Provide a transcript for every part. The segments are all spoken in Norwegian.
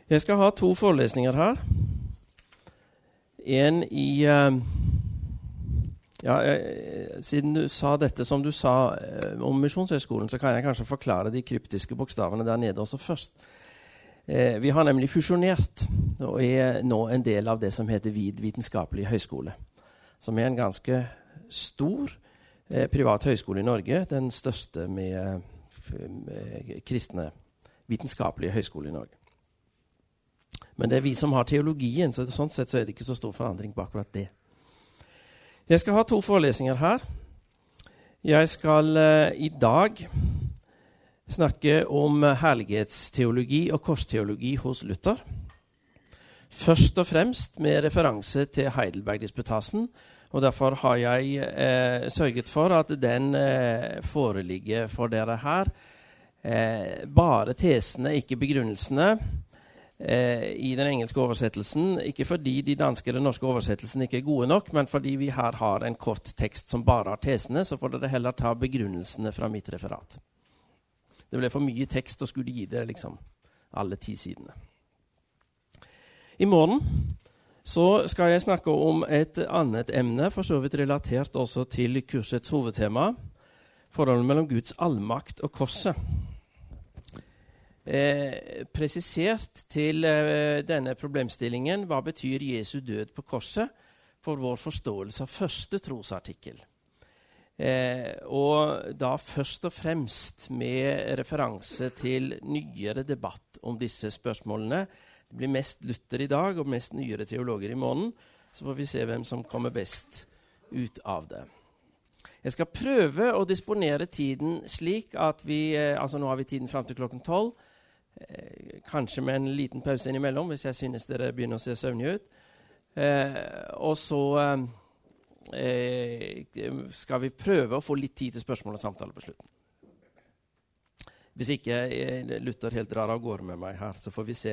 Jeg skal ha 2 forelesninger her. En i... siden du sa dette som du sa om Misjonshøgskolen, så kan jeg kanskje forklare de kryptiske bokstavene der nede også først. Vi har nemlig fusjonert og er nå en del av det som heter VID, Vitenskapelig høyskole, som er en ganske stor privat høyskole i Norge, den største med kristne vitenskapelige høyskole i Norge. Men det er vi som har teologien, så sånn sett så er det ikke så stor forandring på akkurat det. Jeg skal ha 2 forelesninger her. Jeg skal i dag snakke om herlighetsteologi og korsteologi hos Luther. Først og fremst med referanse til Heidelberg-disputasen, og derfor har jeg sørget for at den foreligger for dere her. Bare tesene, ikke begrunnelsene, i den engelske oversettelsen, ikke fordi de danske eller norske oversettelsene ikke er gode nok, men fordi vi her har en kort tekst som bare har tesene, så får dere heller ta begrunnelsene fra mitt referat. Det ble for mye tekst og skulle gi dere liksom alle 10 sidene. I morgen så skal jeg snakke om et annet emne, for så vidt relatert også til kursets hovedtema, forholdet mellom Guds allmakt og korset. Presisert til denne problemstillingen, hva betyr Jesu død på korset for vår forståelse av første trosartikkel? Og da først og fremst med referanse til nyere debatt om disse spørsmålene. Det blir mest Luther i dag og mest nyere teologer i morgen, så får vi se hvem som kommer best ut av det. Jeg skal prøve å disponere tiden slik at vi, altså nå har vi tiden frem til klokken 12, kanskje med en liten pause innimellom, hvis jeg synes dere begynner å se søvnige ut. Og så skal vi prøve å få litt tid til spørsmål og samtale på slutten. Hvis ikke Luther helt drar av gårde med meg her, så får vi se.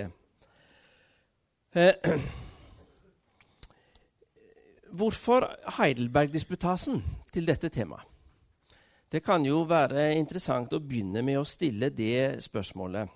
Hvorfor Heidelberg-disputasen til dette temaet? Det kan jo være interessant å begynne med å stille det spørsmålet.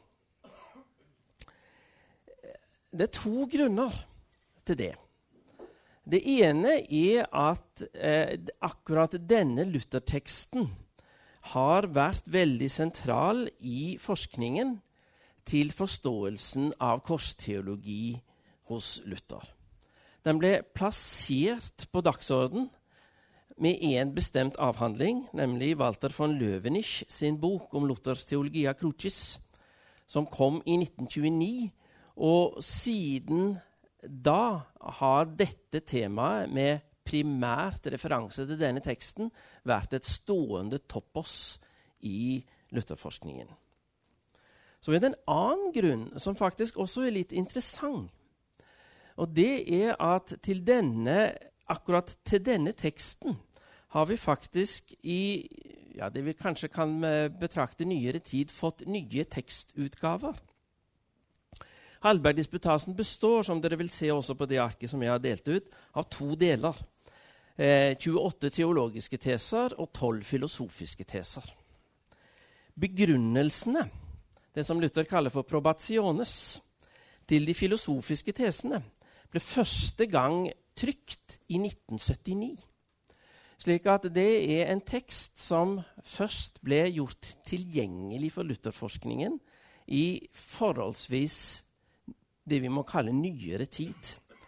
Det er 2 grunner til det. Det ene er at akkurat denne Luther-teksten har vært veldig sentral i forskningen til forståelsen av korsteologi hos Luther. Den ble plassert på dagsorden med en bestemt avhandling, nemlig Walter von Löwenich sin bok om Luthers Theologia Crucis, som kom i 1929, og siden da har dette temaet med primært referanse til denne teksten vært et stående topos i Lutherforskningen. Så er det en annen grunn som faktisk også er litt interessant. Og det er at akkurat til denne teksten har vi faktisk i det vi kanskje kan betrakte nyere tid fått nye tekstutgaver. Heidelberg-disputasen består, som dere vil se også på det arket som jeg har delt ut, av 2 deler. 28 teologiske teser og 12 filosofiske teser. Begrunnelsene, det som Luther kaller for probationes, til de filosofiske tesene, ble første gang trykt i 1979. Slik at det er en tekst som først ble gjort tilgjengelig for Lutherforskningen i forholdsvis det vi må kalle nyere tid.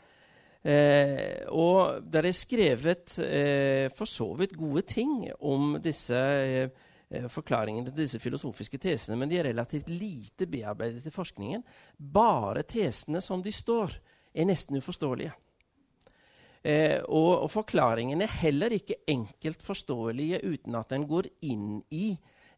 Og der er skrevet for så vidt gode ting om disse forklaringene til disse filosofiske tesene, men de er relativt lite bearbeidet i forskningen. Bare tesene som de står er nesten uforståelige. Og forklaringene er heller ikke enkelt forståelige uten at den går inn i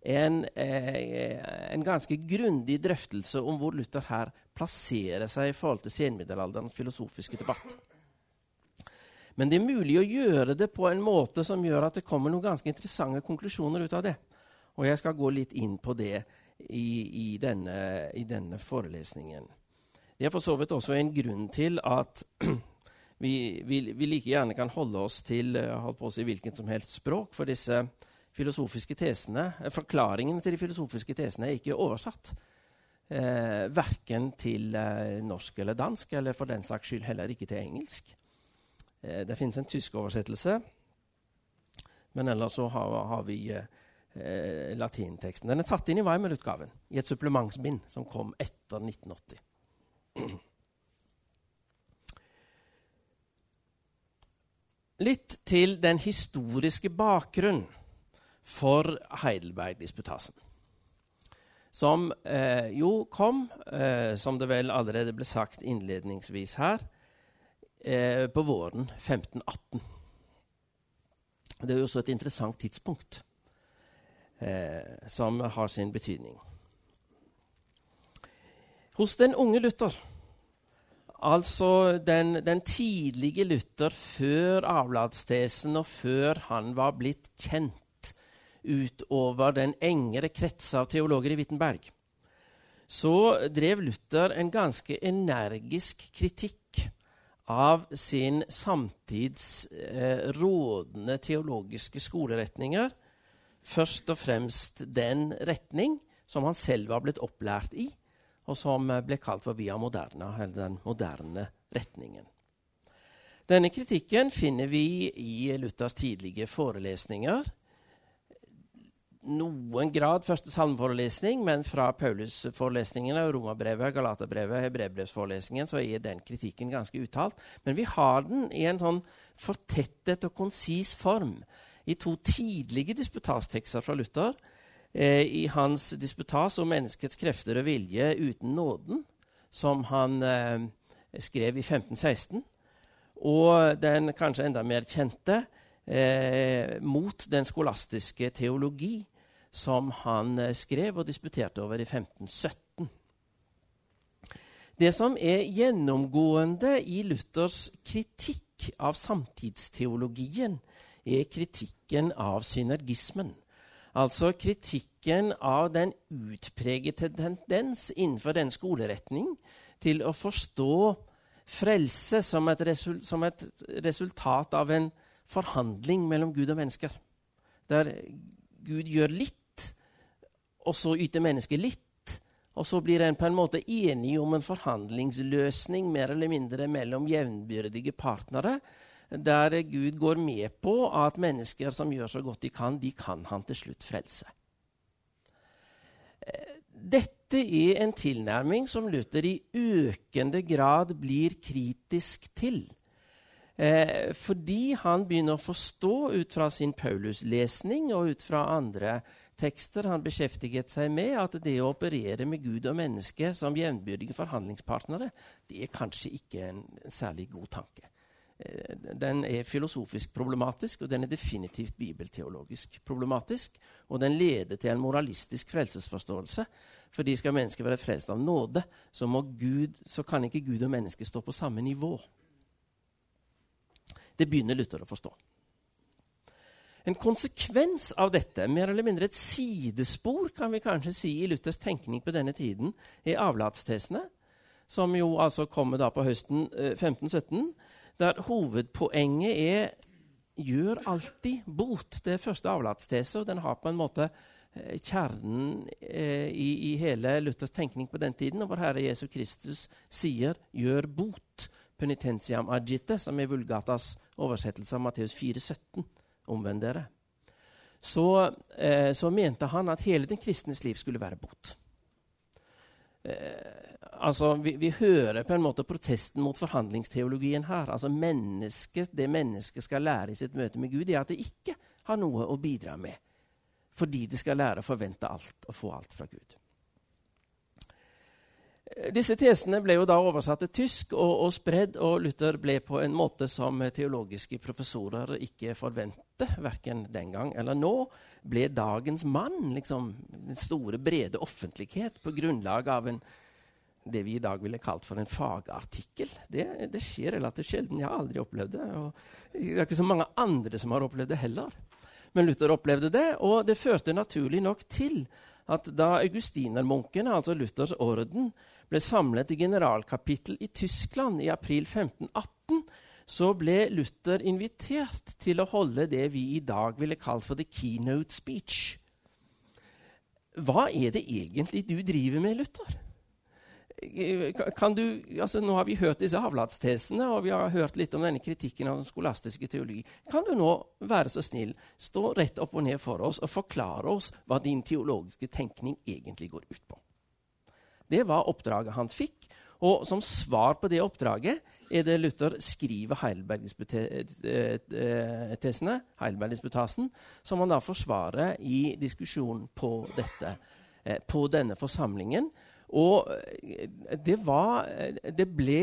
en ganske grundig drøftelse om hvor Luther her plasserer seg i forhold til senmiddelalderens filosofiske debatt. Men det er mulig å gjøre det på en måte som gjør at det kommer noen ganske interessante konklusjoner ut av det. Og jeg skal gå litt inn på det i denne forelesningen. Det er for så vidt også en grunn til at vi like gjerne kan holde oss til hvilket som helst språk, for disse filosofiske tesene, forklaringene til de filosofiske tesene er ikke oversatt. hverken til norsk eller dansk, eller for den saks skyld heller ikke til engelsk. Det finnes en tysk oversettelse, men ellers så har vi latinteksten. Den er tatt inn i Weimar-utgaven, i et supplementsbind som kom etter 1980. Litt til den historiske bakgrunnen for Heidelberg-disputasen, som jo kom, som det vel allerede ble sagt innledningsvis her, på våren 1518. Det er jo også et interessant tidspunkt som har sin betydning. Hos den unge Luther, altså den tidlige Luther før avlatstesen og før han var blitt kjent utover den engere krets av teologer i Wittenberg, så drev Luther en ganske energisk kritikk av sin samtids rådende teologiske skoleretninger, først og fremst den retning som han selv var blitt opplært i, og som ble kalt for via moderna, eller den moderne retningen. Denne kritikken finner vi i Luthers tidlige forelesninger. Noen grad første salmeforelesning, men fra Paulus-forelesningene, Romerbrevet, Galaterbrevet, Hebreerbrevsforelesningen, så er den kritikken ganske uttalt. Men vi har den i en sånn fortettet og konsis form i to tidlige disputastekster fra Luther, i hans disputas om menneskets krefter og vilje uten nåden, som han skrev i 1516, og den kanskje enda mer kjente mot den skolastiske teologi, som han skrev og disputerte over i 1517. Det som er gjennomgående i Luthers kritikk av samtidsteologien, er kritikken av synergismen. Altså kritikken av den utpregete tendens innenfor den skoleretning til å forstå frelse som et resultat av en forhandling mellom Gud og mennesker. Der Gud gjør litt, og så yter mennesket litt, og så blir en på en måte enig om en forhandlingsløsning mer eller mindre mellom jevnbyrdige partnere, der Gud går med på at mennesker som gjør så godt de kan han til slutt frelse. Dette er en tilnærming som Luther i økende grad blir kritisk til, fordi han begynner å forstå ut fra sin Paulus-lesning og ut fra andre tekster han beskjeftiget seg med, at det å operere med Gud og menneske som jevnbyrdige forhandlingspartnere, det er kanskje ikke en særlig god tanke. Den er filosofisk problematisk, og den er definitivt bibelteologisk problematisk, og den leder til en moralistisk frelsesforståelse. Fordi skal mennesket være frelst av nåde, så kan ikke Gud og menneske stå på samme nivå. Det begynner Luther å forstå. En konsekvens av dette, mer eller mindre et sidespor, kan vi kanskje si i Luthers tenkning på denne tiden, er avlatstesene, som jo altså kommer da på høsten 1517, der hovedpoenget er gjør alltid bot. Det er første avlatstese, og den har på en måte kjernen i hele Luthers tenkning på den tiden, og vår Herre Jesus Kristus sier gjør bot, penitentiam agite, som er Vulgatas oversettelse av Matteus 4,17, omvend dere. Så mente han at hele den kristnes liv skulle være bot. Altså, vi hører på en måte protesten mot forhandlingsteologien her. Altså det mennesket skal lære i sitt møte med Gud, er at det ikke har noe å bidra med, fordi det skal lære å forvente alt og få alt fra Gud. Disse tesene ble jo da oversatt til tysk og spredd, og Luther ble på en måte som teologiske professorer ikke forventet, hverken den gang eller nå, ble dagens mann, liksom den store, brede offentlighet på grunnlag av det vi i dag ville kalt for en fagartikkel. Det skjer relativt sjelden. Jeg har aldri opplevd det, og det er ikke så mange andre som har opplevd det heller. Men Luther opplevde det, og det førte naturlig nok til at da augustinermunkene, altså Luthers orden, ble samlet i generalkapittel i Tyskland i april 1518, så ble Luther invitert til å holde det vi i dag ville kalt for the keynote speech. Hva er det egentlig du driver med, Luther? kan du, altså nå har vi hørt disse avlatstesene, og vi har hørt litt om denne kritikken av den skolastiske teologi. Kan du nå være så snill, stå rett opp og ned for oss og forklare oss hva din teologiske tenkning egentlig går ut på? Det var oppdraget han fikk, og som svar på det oppdraget er det Luther skriver Heidelberg-disputasen, som han da forsvarer i diskusjonen på dette, på denne forsamlingen. Og det ble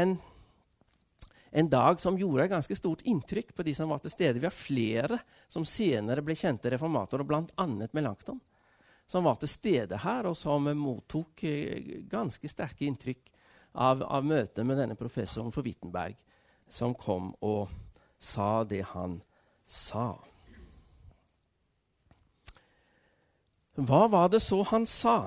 en dag som gjorde ganske stort inntrykk på de som var til stede. Vi har flere som senere ble kjente reformatorer, blant annet Melanchthon, som var til stede her, og som mottok ganske sterke inntrykk av møtet med denne professoren for Wittenberg, som kom og sa det han sa. Hva var det så han sa?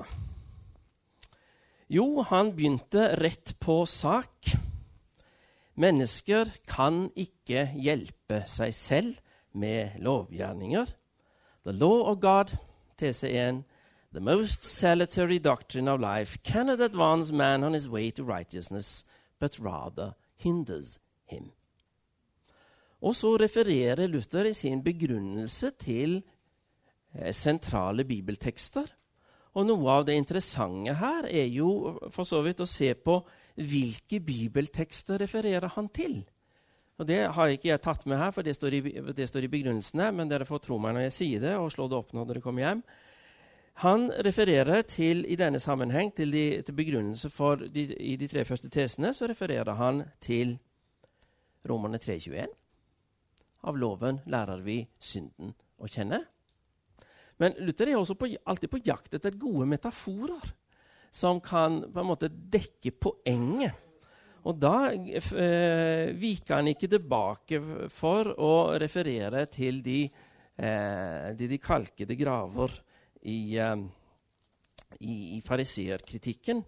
Jo, han begynte rett på sak. Mennesker kan ikke hjelpe seg selv med lovgjerninger. The law of God, tese 1, the most salutary doctrine of life cannot advance man on his way to righteousness, but rather hinders him. Og så refererer Luther i sin begrunnelse til sentrale bibeltekster. Og noe av det interessante her er jo for så vidt å se på hvilke bibeltekster refererer han til. Og det har ikke jeg tatt med her, for det står i begrunnelsene, men dere får tro meg når jeg sier det, og slå det opp når dere kommer hjem. Han refererer til, i denne sammenheng, til begrunnelse for i de 3 første tesene, så refererer han til Romerne 3,21. Av loven lærer vi synden å kjenne. Men Luther er også alltid på jakt etter gode metaforer som kan på en måte dekke poenget. Og da viker han ikke tilbake for å referere til de kalkede graver i fariseerkritikken.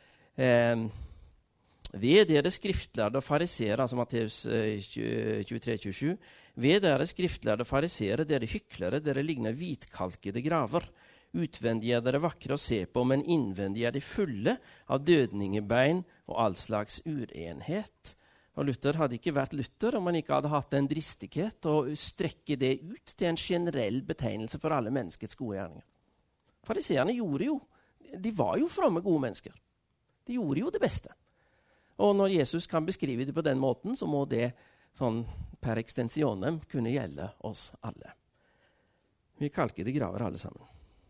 Ved dere skriftlærde og fariseere, altså Matteus 23-27, ved dere skriftlærde og fariseere, dere hyklere, dere ligner hvitkalkede graver. Utvendig er dere vakre å se på, men innvendig er de fulle av dødningebein og all slags urenhet. Og Luther hadde ikke vært Luther om han ikke hadde hatt en dristighet å strekke det ut til en generell betegnelse for alle menneskets gode gjerninger. Fariseerne de var jo fromme gode mennesker. De gjorde jo det beste. Og når Jesus kan beskrive det på den måten, så må det sånn per extensionem kunne gjelde oss alle. Vi kalkede graver alle sammen.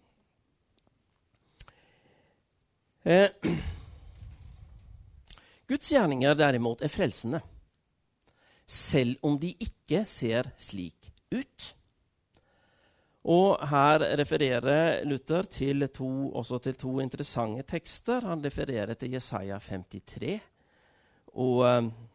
Guds gjerninger derimot er frelsende, selv om de ikke ser slik ut. Og her refererer Luther også til to interessante tekster. Han refererer til Jesaja 53, og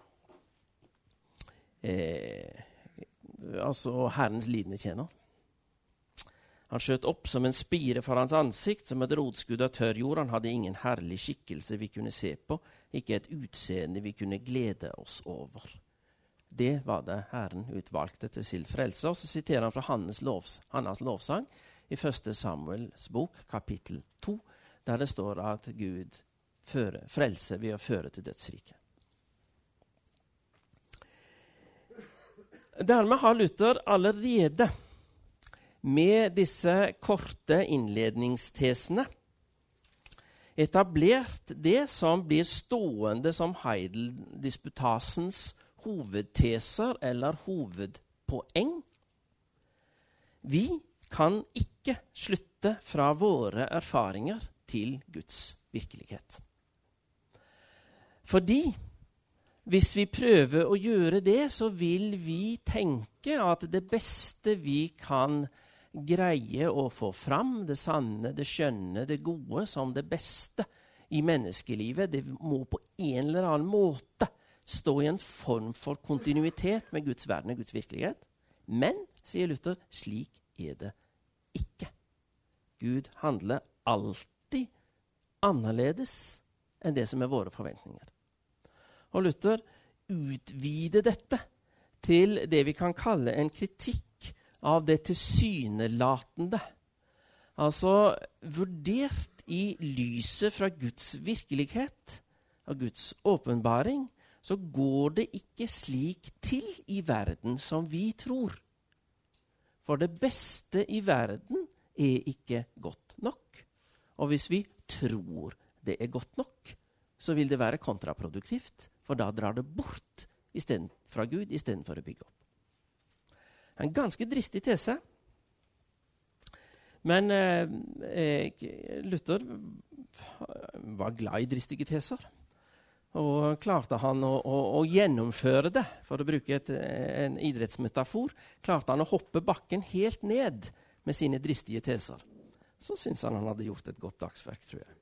altså Herrens lidende tjener. Han skjøt opp som en spire for hans ansikt, som et rotskudd av tørr jord. Han hadde ingen herlig skikkelse vi kunne se på, ikke et utseende vi kunne glede oss over. Det var det Herren utvalgte til sin frelse. Og så siterer han fra Hannas lovsang i 1. Samuels bok, kapittel 2, der det står at Gud frelser ved å føre til dødsriket. Dermed har Luther allerede med disse korte innledningstesene etablert det som blir stående som Heidelberg-disputasens hovedteser eller hovedpoeng. Vi kan ikke slutte fra våre erfaringer til Guds virkelighet. Fordi hvis vi prøver å gjøre det, så vil vi tenke at det beste vi kan greie å få fram, det sanne, det skjønne, det gode, som det beste i menneskelivet, det må på en eller annen måte stå i en form for kontinuitet med Guds verden og Guds virkelighet. Men, sier Luther, slik er det ikke. Gud handler alltid annerledes enn det som er våre forventninger. Og Luther utvider dette til det vi kan kalle en kritikk av det tilsynelatende. Altså vurdert i lyset fra Guds virkelighet, av Guds åpenbaring, så går det ikke slik til i verden som vi tror. For det beste i verden er ikke godt nok. Og hvis vi tror det er godt nok, så vil det være kontraproduktivt, for da drar det bort fra Gud i stedet for å bygge opp. En ganske dristig tese. Men Luther var glad i dristige teser. Og klarte han å gjennomføre det, for å bruke en idrettsmetafor, klarte han å hoppe bakken helt ned med sine dristige teser. Så synes han hadde gjort et godt dagsverk, tror jeg.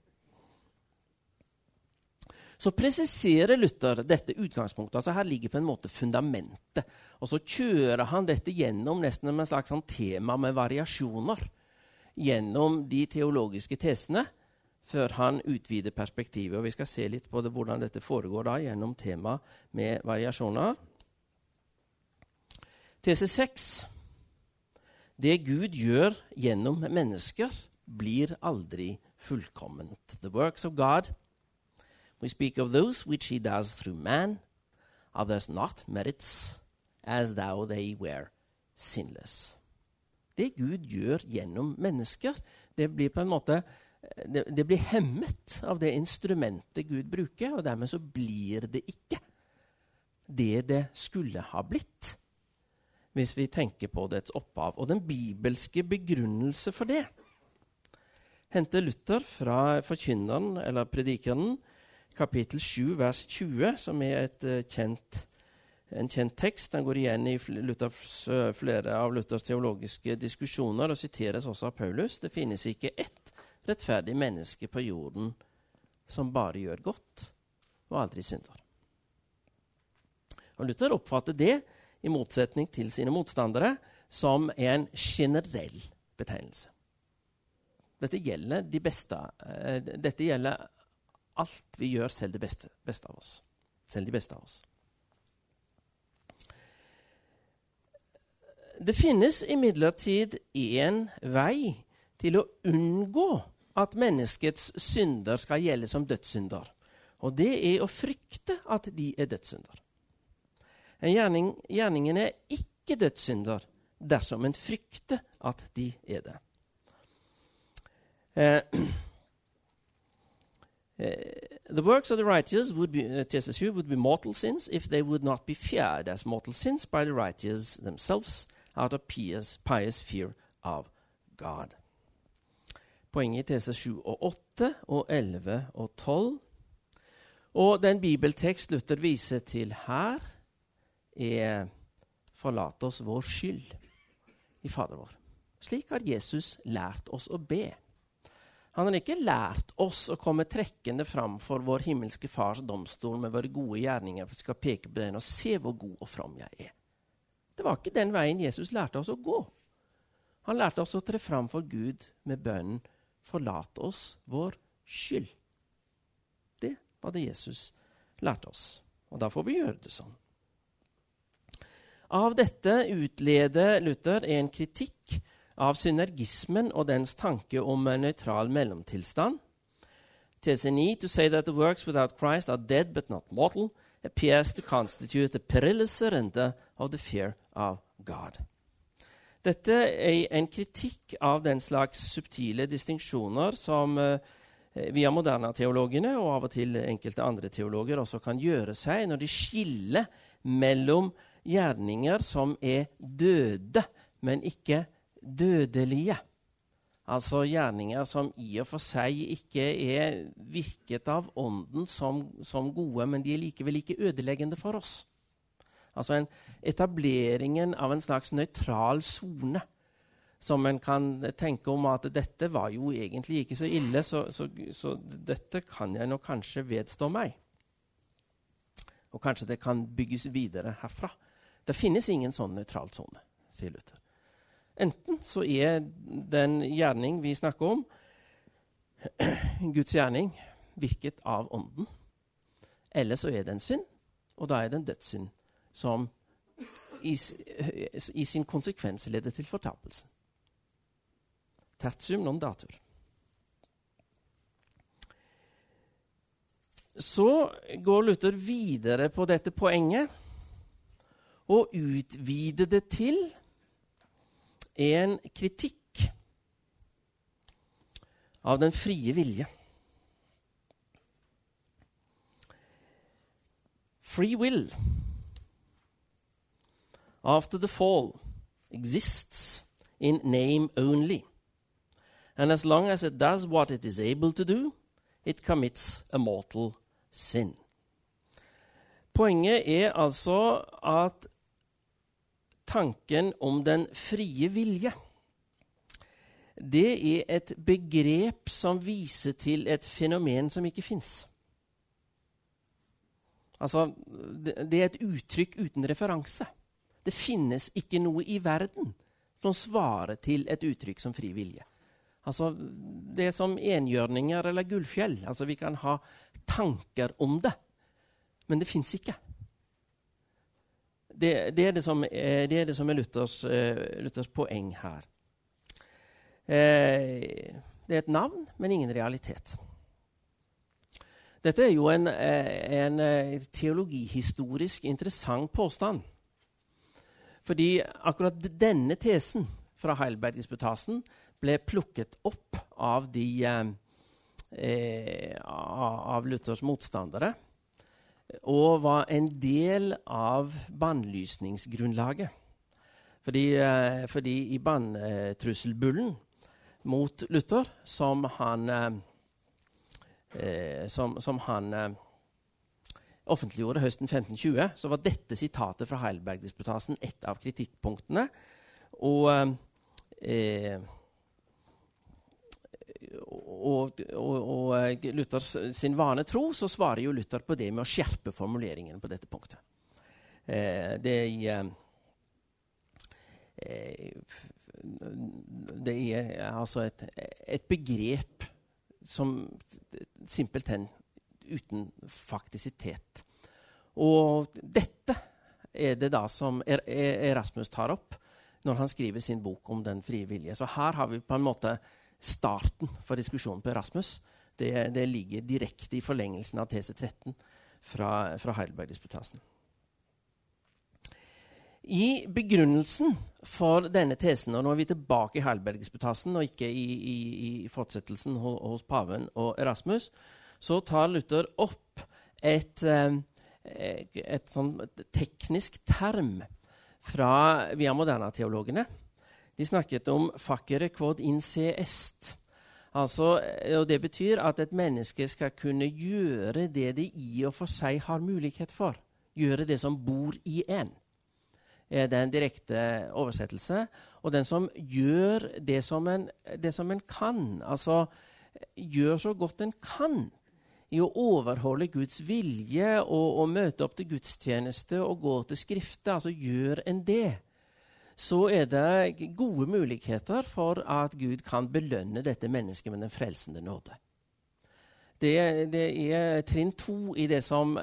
Så presiserer Luther dette utgangspunktet. Altså her ligger på en måte fundamentet. Og så kjører han dette gjennom nesten med en slags sånn tema med variasjoner. Gjennom de teologiske tesene, før han utvider perspektivet. Og vi skal se litt på det, hvordan dette foregår da, gjennom tema med variasjoner. Tese 6. Det Gud gjør gjennom mennesker, blir aldri fullkomment. The works of God, we speak of those which he does through man, others not merits, as though they were sinless. Det Gud gjør gjennom mennesker, det blir på en måte det blir hemmet av det instrumentet Gud bruker, og dermed så blir det ikke det skulle ha blitt, hvis vi tenker på dets opphav. Og den bibelske begrunnelse for det henter Luther fra Forkynneren, eller Predikeren, kapittel 7, vers 20, som er en kjent tekst. Den går igjen i flere av Luthers teologiske diskusjoner, og siteres også av Paulus. Det finnes ikke ett rettferdig menneske på jorden som bare gjør godt og aldri synder. Og Luther oppfatter det, i motsetning til sine motstandere, som en generell betegnelse. Dette gjelder de beste. Dette gjelder alt vi gjør, selv det beste av oss. Selv de beste av oss. Det finnes imidlertid en vei til å unngå at menneskets synder skal gjelde som dødssynder. Og det er å frykte at de er dødssynder. Gjerningen er ikke dødssynder dersom en frykter at de er det. The works of the righteous would be mortal sins if they would not be feared as mortal sins by the righteous themselves out of pious fear of God. Poenget i tese 7 og 8 og 11 og 12. Og den bibeltekst Luther viser til her er forlat oss vår skyld i Fader vår. Slik har Jesus lært oss å be. Han har ikke lært oss å komme trekkende fram for vår himmelske fars domstol med våre gode gjerninger, for vi skal peke på den og se hvor god og from jeg er. Det var ikke den veien Jesus lærte oss å gå. Han lærte oss å tre fram for Gud med bønnen, forlat oss vår skyld. Det var det Jesus lærte oss, og da får vi gjøre det sånn. Av dette utleder Luther en kritikk av synergismen og dens tanke om en nøytral mellomtilstand. Tese 9, to say that the works without Christ are dead but not mortal, appears to constitute a perilous surrender of the fear of God. Dette er en kritikk av den slags subtile distinksjoner som via moderne teologene og av og til enkelte andre teologer også kan gjøre seg når de skiller mellom gjerninger som er døde, men ikke dødelige. Altså gjerninger som i og for seg ikke er virket av ånden som gode, men de er likevel ikke ødeleggende for oss. Altså etableringen av en slags nøytral zone, som en kan tenke om at dette var jo egentlig ikke så ille, så dette kan jeg nok kanskje vedstå meg. Og kanskje det kan bygges videre herfra. Det finnes ingen sånn nøytral zone, sier Luther. Enten så er den gjerning vi snakker om, Guds gjerning, virket av ånden, eller så er det en synd, og da er det en dødssynd, som i sin konsekvens leder til fortapelsen. Tertium non datur. Så går Luther videre på dette poenget og utvider det til en kritikk av den frie vilje. Free will, after the fall, exists in name only. And as long as it does what it is able to do, it commits a mortal sin. Poenget altså at tanken om den frie vilje, det et begrep som viser til et fenomen som ikke finnes. Altså, det et uttrykk uten referanse. Det finnes ikke noe i verden som svarer til et uttrykk som fri vilje. Altså, det som enhjørninger eller gullfjell. Altså, vi kan ha tanker om det, men det finnes ikke. Det det som Luthers poeng her. Det et navn, men ingen realitet. Dette jo en teologihistorisk interessant påstand. Fordi akkurat denne tesen fra Heidelberg-disputasen ble plukket opp av av Luthers motstandere og var en del av bannlysningsgrunnlaget. Fordi i banntrusselbullen mot Luther, som han offentliggjorde høsten 1520, så var dette sitatet fra Heidelberg-disputasen et av kritikkpunktene. Og Luthers sin vane tro, så svarer jo Luther på det med å skjerpe formuleringen på dette punktet. Det altså et begrep som simpelthen uten faktisitet. Og dette det da som Erasmus tar opp når han skriver sin bok om den frie vilje. Så her har vi på en måte starten for diskusjonen på Erasmus. Det ligger direkte i forlengelsen av tese 13 fra Heidelberg-disputasen. I begrunnelsen for denne tesen, og nå vi tilbake i Heidelberg-disputasen og ikke i fortsettelsen hos Paven og Erasmus, så tar Luther opp et sånn teknisk term fra via moderna-teologene. De snakket om facere quod in se est. Altså, og det betyr at et menneske skal kunne gjøre det de i og for seg har mulighet for. Gjøre det som bor i en. Det en direkte oversettelse. Og den som gjør det som en kan, altså gjør så godt en kan i å overholde Guds vilje og møte opp til gudstjeneste og gå til skriftet, altså gjør en det, så det gode muligheter for at Gud kan belønne dette mennesket med den frelsende nåde. Det trinn 2 i det som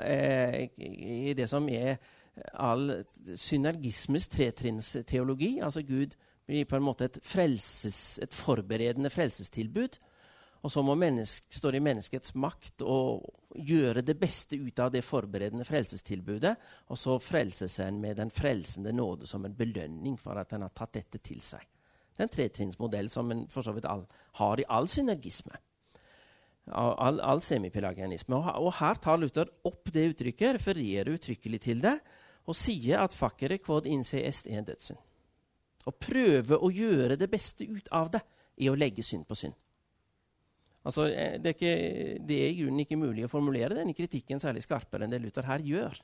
all synergismes tretrinns-teologi, altså Gud blir på en måte et forberedende frelsestilbud, og så står det i menneskets makt å gjøre det beste ut av det forberedende frelsestilbudet, og så frelses en med den frelsende nåde som en belønning for at en har tatt dette til seg. Det en tretrinnsmodell som en for så vidt har i all synergisme, all semipelagianisme. Og her tar Luther opp det uttrykket, refererer uttrykkelig til det, og sier at facere quod in se est en dødssynd. Og prøve å gjøre det beste ut av det i å legge synd på synd. Altså, det i grunnen ikke mulig å formulere denne kritikken særlig skarpere enn det Luther her gjør.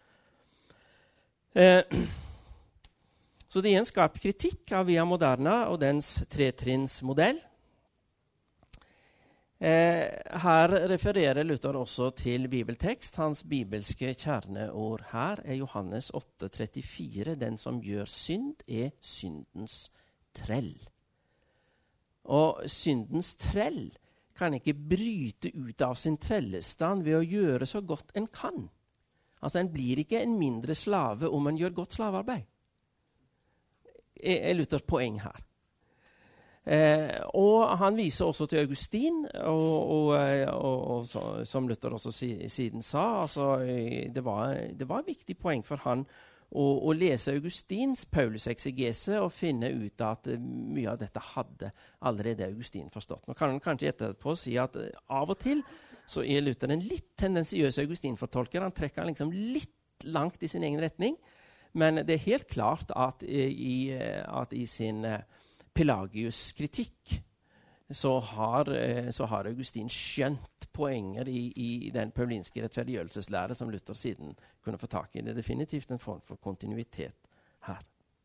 Så det en skarp kritikk av via moderna og dens tretrinnsmodell. Her refererer Luther også til bibeltekst. Hans bibelske kjerneord her Johannes 8,34. Den som gjør synd syndens trell. Og syndens trell kan ikke bryte ut av sin trellestand ved å gjøre så godt en kan. Altså, en blir ikke en mindre slave om en gjør godt slavearbeid. Luthers poeng her. Og han viser også til Augustin, som Luther også siden sa, altså, det var et viktig poeng for han å lese Augustins Paulus-eksegese og finne ut at mye av dette hadde allerede Augustin forstått. Nå kan han kanskje etterpå si at av og til så Luther en litt tendensiøs Augustin-fortolker. Han trekker liksom litt langt i sin egen retning, men det helt klart at i sin Pelagius-kritikk så har Augustin skjønt poenger i den paulinske rettferdiggjørelseslære som Luther siden kunne få tak i. Det definitivt en form for kontinuitet her.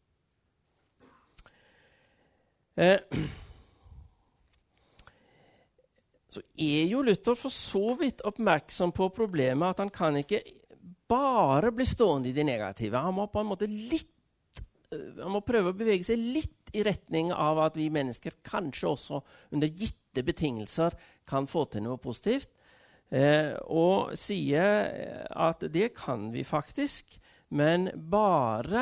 Så jo Luther for så vidt oppmerksom på problemet at han kan ikke bare bli stående i det negative. Han må på en måte han må prøve å bevege seg litt i retning av at vi mennesker kanskje også under gitte betingelser kan få til noe positivt. Og sier at det kan vi faktisk, men bare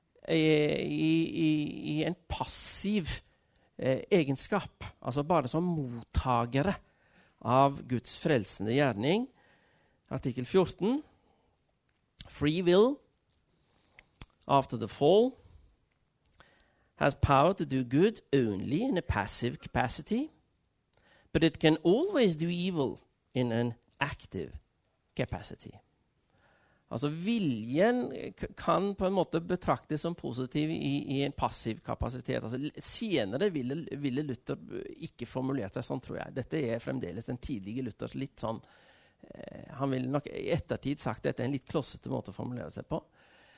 i en passiv egenskap. Altså bare som mottagere av Guds frelsende gjerning. Artikkel 14. Free will after the fall has power to do good only in a passive capacity, but it can always do evil in an active capacity. Altså viljen kan på en måte betraktes som positiv i en passiv kapasitet. Altså, senere ville Luther ikke formulert seg sånn, tror jeg. Dette fremdeles den tidlige Luthers litt sånn, han ville nok i ettertid sagt at dette en litt klossete måte å formulere seg på.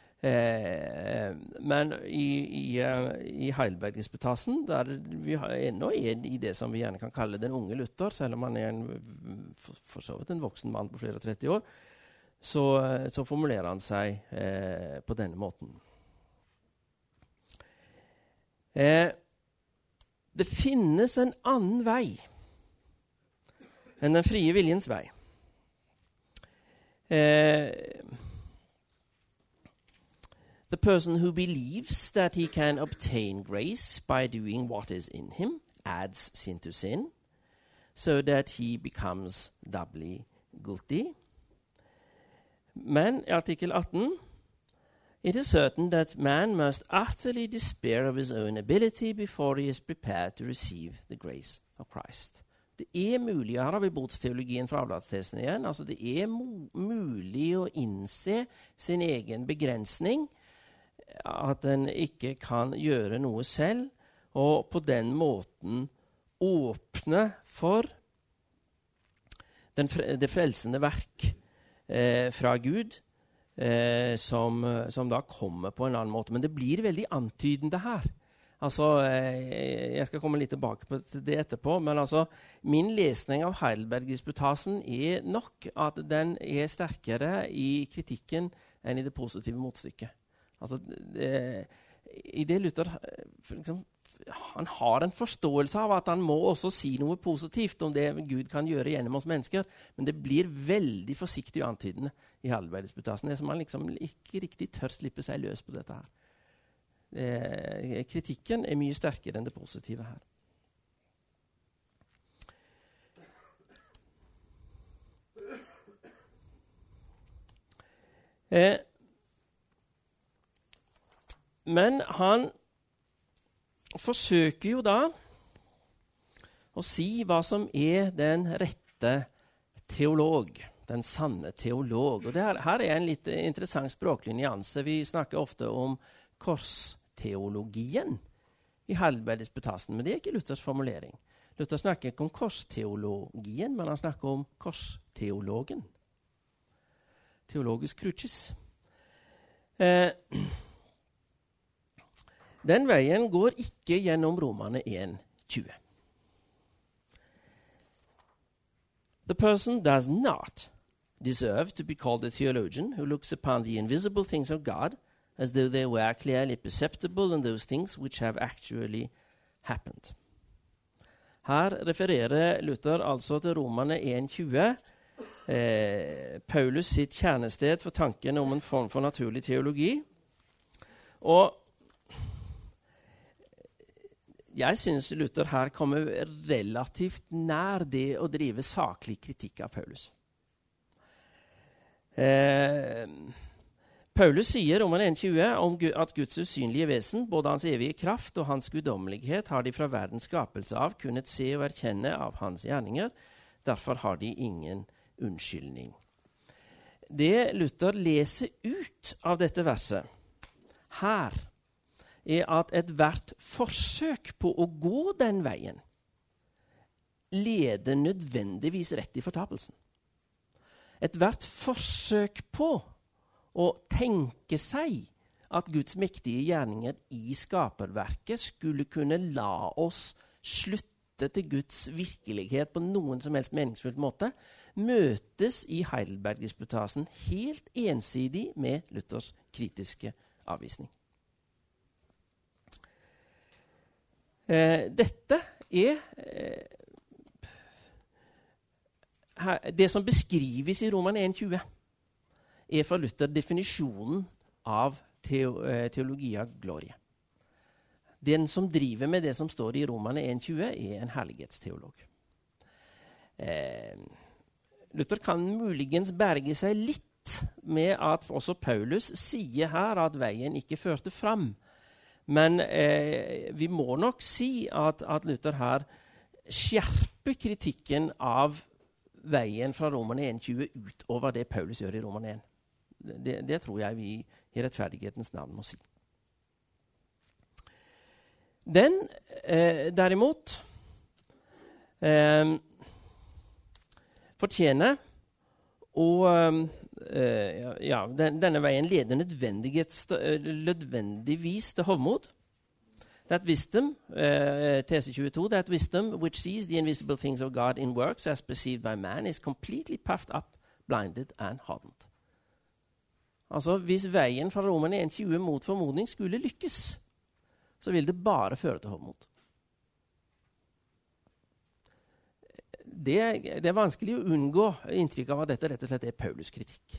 Men i Heidelberg-disputasen, der vi ennå i det som vi gjerne kan kalle den unge Luther, selv om han for så vidt en voksen mann på flere 30 år, så formulerer han seg på denne måten. Det finnes en annen vei enn den frie viljens vei. The person who believes that he can obtain grace by doing what is in him adds sin to sin, so that he becomes doubly guilty. Men i artikkel 18, it is certain that man must utterly despair of his own ability before he is prepared to receive the grace of Christ. Det mulig, her har vi bodsteologien fra avlatstesten igjen, altså det mulig å innse sin egen begrensning, at en ikke kan gjøre noe selv, og på den måten åpne for det frelsende verk fra Gud, som da kommer på en annen måte. Men det blir veldig antydende her. Altså, jeg skal komme litt tilbake til det etterpå, men altså, min lesning av Heidelberg-disputasen nok at den sterkere i kritikken enn i det positive motstykket. Altså, i det Luther liksom, han har en forståelse av at han må også si noe positivt om det Gud kan gjøre gjennom oss mennesker, men det blir veldig forsiktig og antydende i Heidelberg-disputasen. Det som han liksom ikke riktig tør slippe seg løs på dette her. Kritikken mye sterkere enn det positive her. Men han forsøker jo da å si hva som den rette teolog, den sanne teolog. Og her en litt interessant språklig nyanse. Vi snakker ofte om korsteologien i Heidelberg-disputasen, men det ikke Luthers formulering. Luther snakker ikke om korsteologien, men han snakker om korsteologen. Theologus crucis. Den veien går ikke gjennom Romerne 1:20. The person does not deserve to be called a theologian who looks upon the invisible things of God as though they were clearly perceptible in those things which have actually happened. Her refererer Luther altså til Romerne 1:20, Paulus sitt kjernested for tanken om en form for naturlig teologi. Og jeg synes Luther her kommer relativt nær det å drive saklig kritikk av Paulus. Paulus sier om 1.20 om at Guds usynlige vesen, både hans evige kraft og hans guddommelighet, har de fra verdens skapelse av kunnet se og erkjenne av hans gjerninger. Derfor har de ingen unnskyldning. Det Luther leser ut av dette verset her, at et hvert forsøk på å gå den veien leder nødvendigvis rett i fortapelsen. Et hvert forsøk på å tenke seg at Guds mektige gjerninger i skaperverket skulle kunne la oss slutte til Guds virkelighet på noen som helst meningsfull måte, møtes i Heidelberg-disputasen helt ensidig med Luthers kritiske avvisning. Dette det som beskrives i Roman 1.20, fra Luther definisjonen av teologia glorie. Den som driver med det som står i Roman 1.20, en herlighetsteolog. Luther kan muligens berge seg litt med at også Paulus sier her at veien ikke førte fram. Men vi må nok si at Luther her skjerper kritikken av veien fra Roman 1.20 utover det Paulus gjør i Roman 1. Det tror jeg vi i rettferdighetens navn må si. Den derimot fortjener denne veien leder nødvendigvis til hovmod. That wisdom, tese 22, that wisdom which sees the invisible things of God in works as perceived by man is completely puffed up, blinded and hardened. Altså, hvis veien fra Roman 1.20 mot formodning skulle lykkes, så vil det bare føre til hovmod. Det er vanskelig å unngå inntrykk av at dette rett og slett er Paulus kritikk.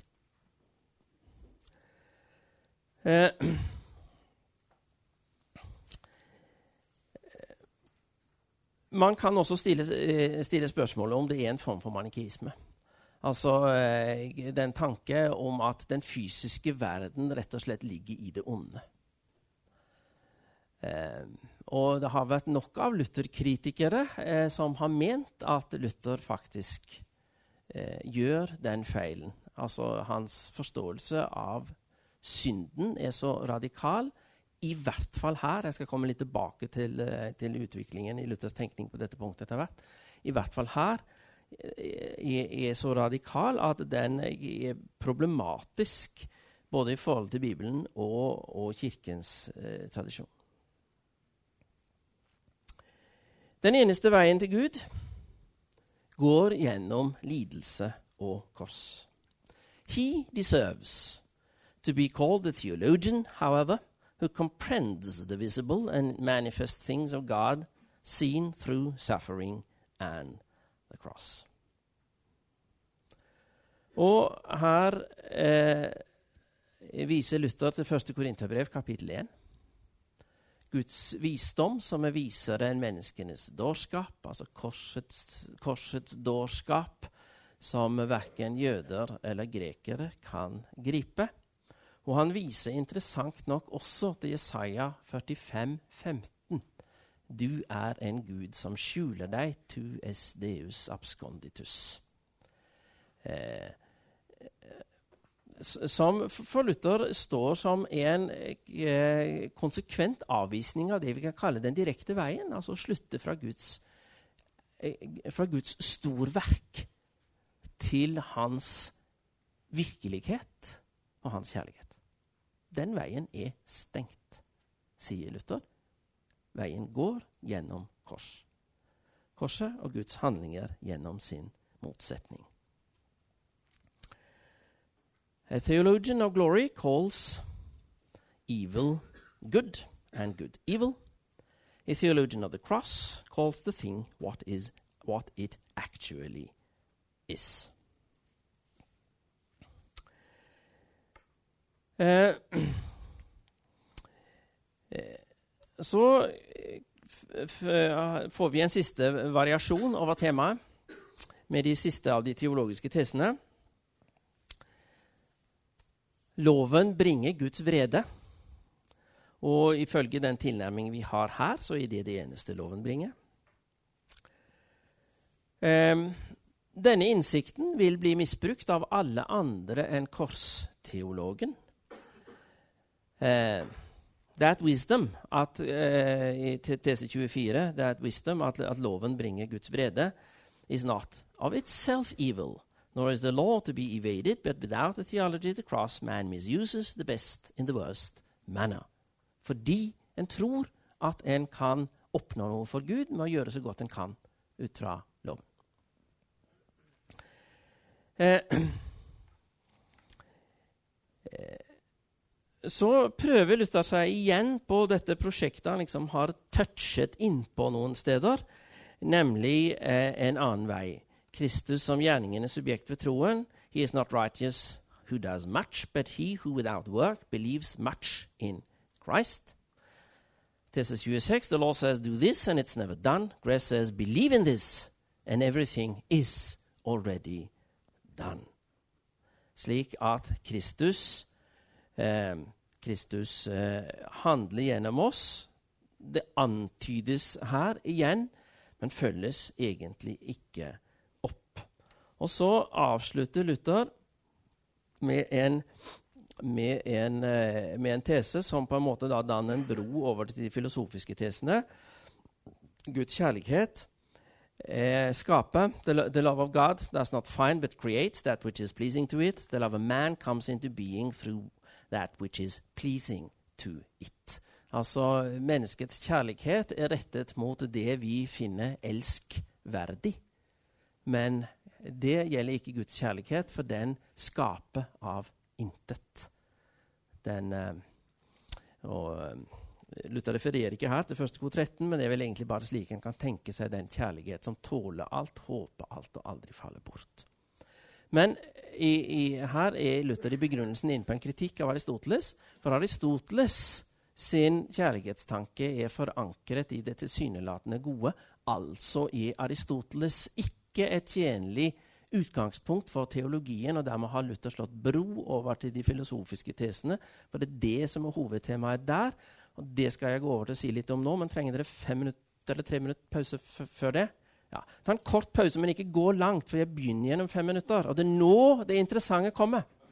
Man kan også stille spørsmålet om det er en form for manikeisme. Altså den tanke om at den fysiske verden rett og slett ligger i det onde. Og det har vært nok av Luther-kritikere som har ment at Luther faktisk gjør den feilen. Altså hans forståelse av synden er så radikal, i hvert fall her, jeg skal komme litt tilbake til utviklingen i Luthers tenkning på dette punktet etter hvert, i hvert fall her er så radikal at den er problematisk både i forhold til Bibelen og kirkens tradisjon. Den eneste veien til Gud går gjennom lidelse og kors. He deserves to be called the theologian, however, who comprehends the visible and manifest things of God seen through suffering and the cross. Og her viser Luther til 1. Korinterbrev, kapittel 1. Guds visdom som viser en menneskenes dårskap, altså korsets dårskap, som hverken jøder eller grekere kan gripe. Og han viser interessant nok også til Jesaja 45:15. Du er en Gud som skjuler deg, tu es deus absconditus. Som for Luther står som en konsekvent avvisning av det vi kan kalle den direkte veien, altså slutte fra Guds storverk til hans virkelighet og hans kjærlighet. Den veien er stengt, sier Luther. Veien går gjennom kors. Korset og Guds handlinger gjennom sin motsetning. A theologian of glory calls evil good and good evil. A theologian of the cross calls the thing what it actually is. Så får vi en siste variasjon over temaet, med de siste av de teologiske tesene. Loven bringer Guds vrede, og ifølge den tilnærming vi har her, så er det eneste loven bringer. Denne innsikten vil bli misbrukt av alle andre enn korsteologen. That wisdom, i tese 24, that wisdom, at loven bringer Guds vrede, is not of itself evil, nor is the law to be evaded, but without the theology of the cross, man misuses the best in the worst manner. Fordi en tror at en kan oppnå noe for Gud med å gjøre så godt en kan ut fra loven. Så prøver Luther seg igjen på dette prosjektet han liksom har touchet inn på noen steder, nemlig en annen vei. Kristus som gjerningen subjekt ved troen. He is not righteous who does much, but he who without work believes much in Christ. Tese 26, the law says do this and it's never done. Grace says believe in this and everything is already done. Slik at Kristus handler gjennom oss. Det antydes her igjen, men følges egentlig ikke opp. Og så avslutter Luther med en tese som på en måte da danner en bro over til de filosofiske tesene. Guds kjærlighet skaper. The love of God does not find but creates that which is pleasing to it. The love of man comes into being through that which is pleasing to it. Altså, menneskets kjærlighet rettet mot det vi finner elskverdig. Men det gjelder ikke Guds kjærlighet, for den skaper av intet. Luther refererer ikke her til 1. kor 13, men det er vel egentlig bare slik en kan tenke seg den kjærlighet som tåler alt, håper alt og aldri faller bort. Men her er Luther i begrunnelsen inne på en kritikk av Aristoteles, for Aristoteles sin kjærlighetstanke er forankret i det tilsynelatende gode, altså er Aristoteles ikke et tjenlig utgangspunkt for teologien, og dermed har Luther slått bro over til de filosofiske tesene, for det er det som er hovedtemaet der, og det skal jeg gå over til å si litt om nå, men trenger dere 5 minutter eller 3 minutter pause før det? Ja, ta en kort pause, men ikke gå langt, for jeg begynner gjennom 5 minutter, og det er nå det interessante kommer.